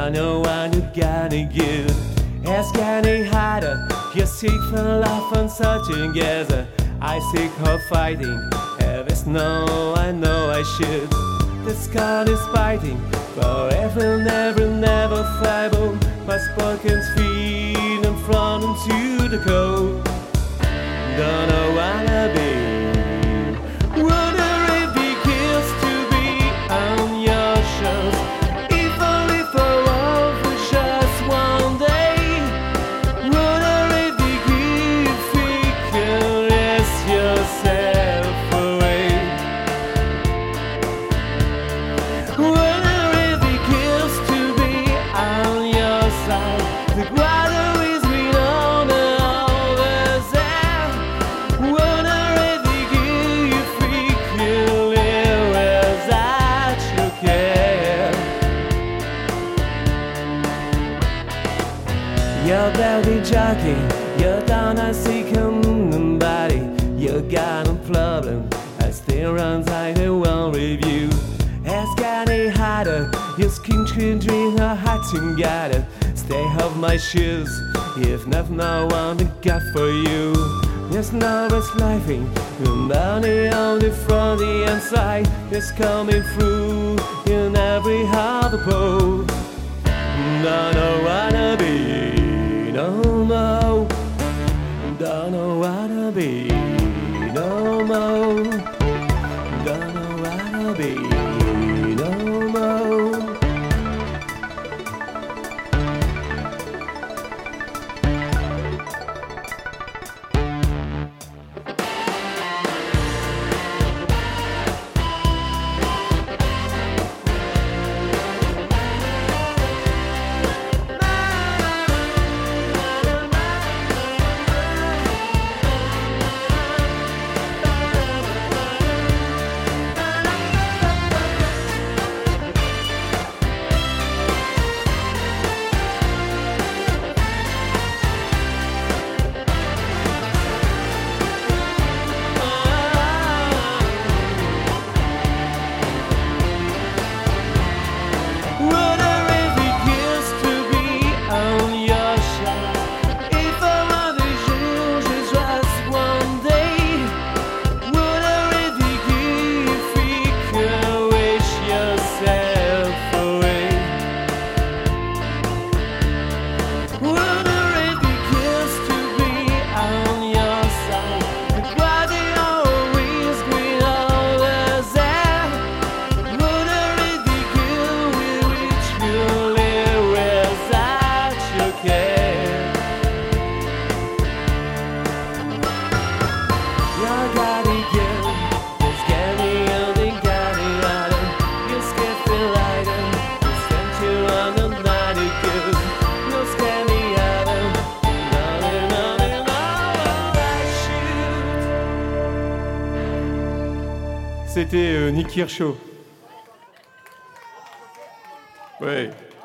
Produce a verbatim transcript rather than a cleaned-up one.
don't know what you gotta give. Ask any harder, you seek for love and searching together. I seek her fighting, heaven no, I know I should. The sky is fighting, forever, never, never flyable. My spoken feet and front into the cold. Don't know what I be. Wonder if it kills to be on your shows. If only for all for just one day. Wonder if it gives you caress yourself away. Wonder if it kills to be on your side. The water is green on the other side. Wonder if it gives you free killing without you care. Your belly jogging, you're down and sick and body. You got a problem, I still run like the one review. Ask any harder, your skin can drink a heart together. Stay off my shoes, if not no one to got for you. There's no rest living, your money on the front, the inside is coming through in every other pole. Don't know what to be, no more. Don't know what to be, no more. Don't know what to be, no more. C'était euh, Nick Kershaw. Ouais.